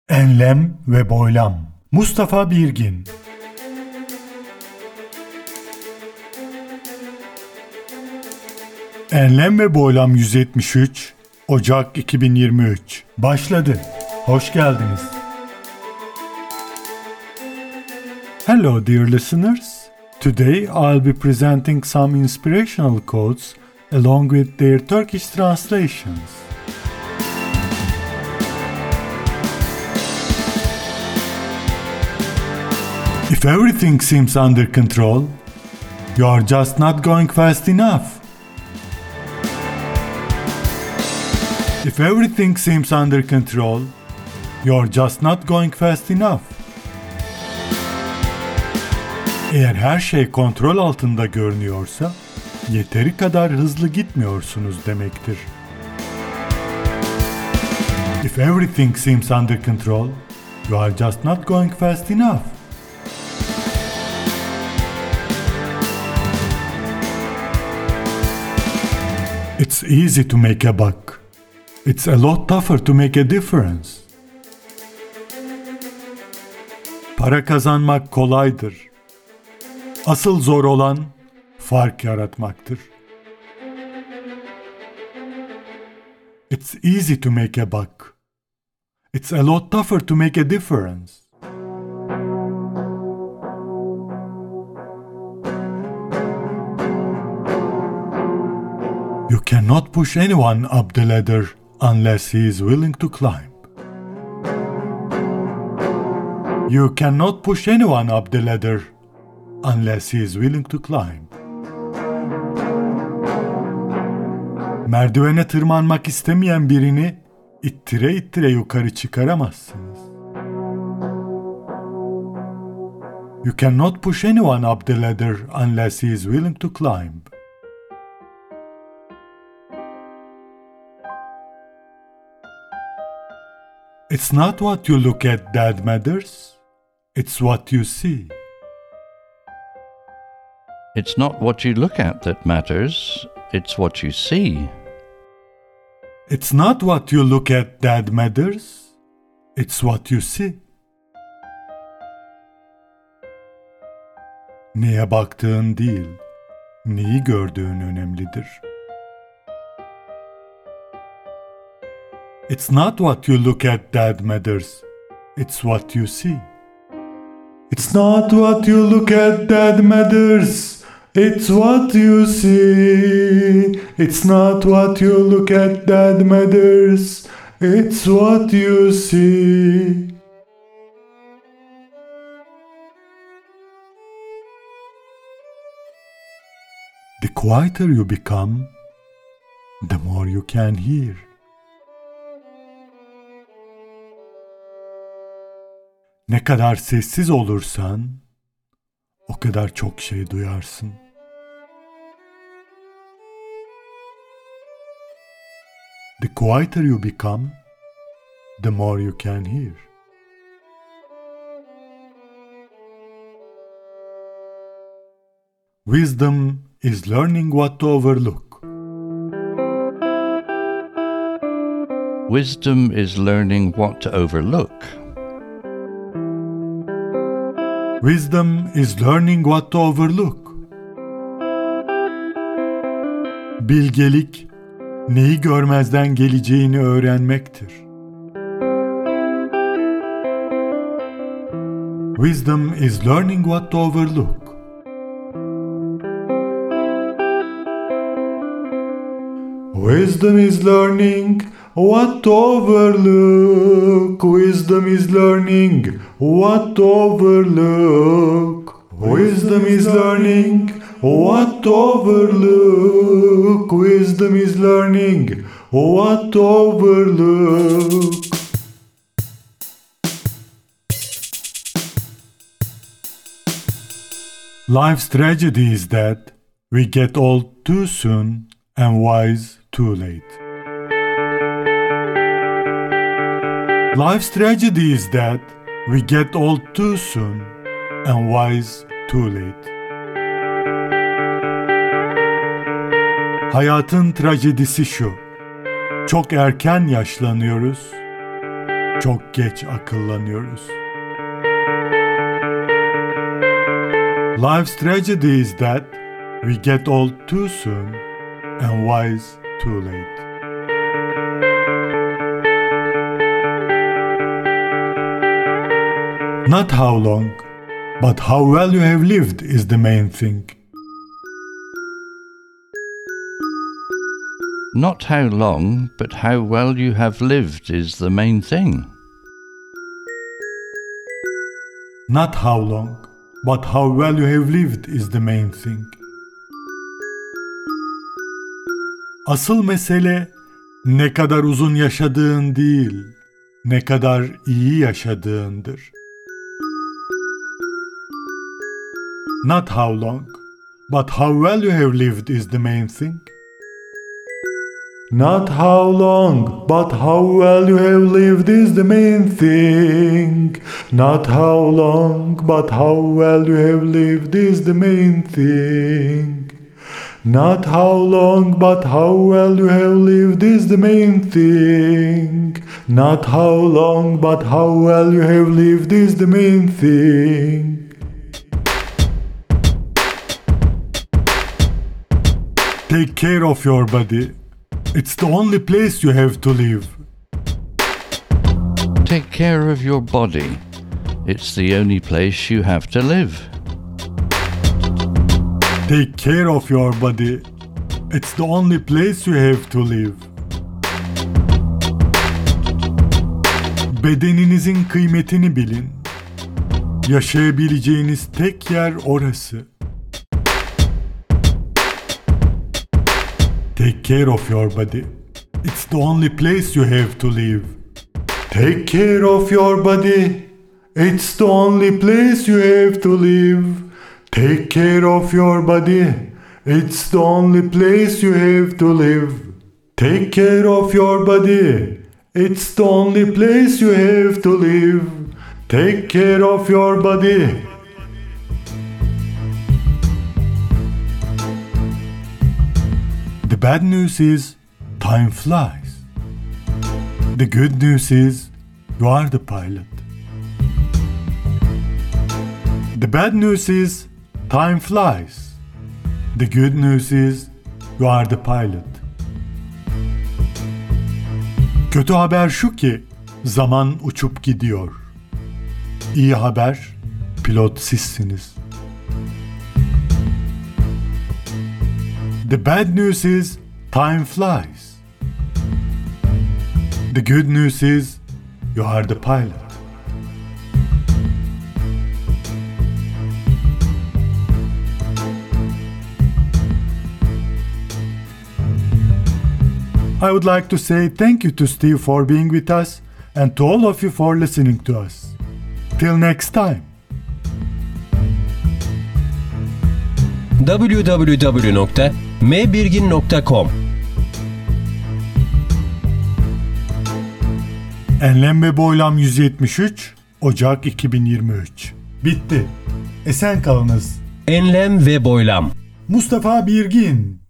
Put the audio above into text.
Enlem ve Boylam. Mustafa Birgin. Enlem ve Boylam 173 Ocak 2023 başladı. Hoş geldiniz. Hello dear listeners. Today I'll be presenting some inspirational quotes along with their Turkish translations. If everything seems under control, you are just not going fast enough. If everything seems under control, you are just not going fast enough. Eğer her şey kontrol altında görünüyorsa, yeteri kadar hızlı gitmiyorsunuz demektir. If everything seems under control, you are just not going fast enough. It's easy to make a buck. It's a lot tougher to make a difference. Para kazanmak kolaydır. Asıl zor olan fark yaratmaktır. It's easy to make a buck. It's a lot tougher to make a difference. You cannot push anyone up the ladder unless he is willing to climb. You cannot push anyone up the ladder unless he is willing to climb. Merdivene tırmanmak istemeyen birini ittire ittire yukarı çıkaramazsınız. You cannot push anyone up the ladder unless he is willing to climb. It's not what you look at that matters, it's what you see. It's not what you look at that matters, it's what you see. It's not what you look at that matters, it's what you see. Neye baktığın değil, neyi gördüğün önemlidir. It's not what you look at that matters, it's what you see. It's not what you look at that matters, it's what you see. It's not what you look at that matters, it's what you see. The quieter you become, the more you can hear. Ne kadar sessiz olursan, o kadar çok şey duyarsın. The quieter you become, the more you can hear. Wisdom is learning what to overlook. Wisdom is learning what to overlook. Wisdom is learning what to overlook. Bilgelik, neyi görmezden geleceğini öğrenmektir. Wisdom is learning what to overlook. Wisdom is learning what to overlook. Wisdom is learning what to overlook. Wisdom is learning what to overlook. Wisdom is learning what to overlook. Life's tragedy is that we get old too soon and wise too late. Life's tragedy is that we get old too soon and wise too late. Hayatın trajedisi şu: çok erken yaşlanıyoruz Çok geç akıllanıyoruz. Life's tragedy is that we get old too soon and wise too late. Not how long, but how well you have lived is the main thing. Not how long, but how well you have lived is the main thing. Not how long, but how well you have lived is the main thing. Asıl mesele ne kadar uzun yaşadığın değil, ne kadar iyi yaşadığındır. Not how long, but how well you have lived is the main thing. Not how long, but how well you have lived is the main thing. Not how long, but how well you have lived is the main thing. Not how long, but how well you have lived is the main thing. Not how long, but how well you have lived is the main thing. Take care of your body. It's the only place you have to live. Take care of your body. It's the only place you have to live. Take care of your body. It's the only place you have to live. Bedeninizin kıymetini bilin. Yaşayabileceğiniz tek yer orası. Take care of your body. It's the only place you have to live. Take care of your body. It's the only place you have to live. Take care of your body. It's the only place you have to live. Take care of your body. It's the only place you have to live. Take care of your body. The bad news is time flies. The good news is you are the pilot. The bad news is time flies. The good news is you are the pilot. Kötü haber şu ki zaman uçup gidiyor. İyi haber pilot sizsiniz. The bad news is time flies. The good news is you are the pilot. I would like to say thank you to Steve for being with us and to all of you for listening to us. Till next time. www.mbirgin.com Enlem ve Boylam 173 Ocak 2023. Bitti. Esen kalınız. Enlem ve Boylam. Mustafa Birgin.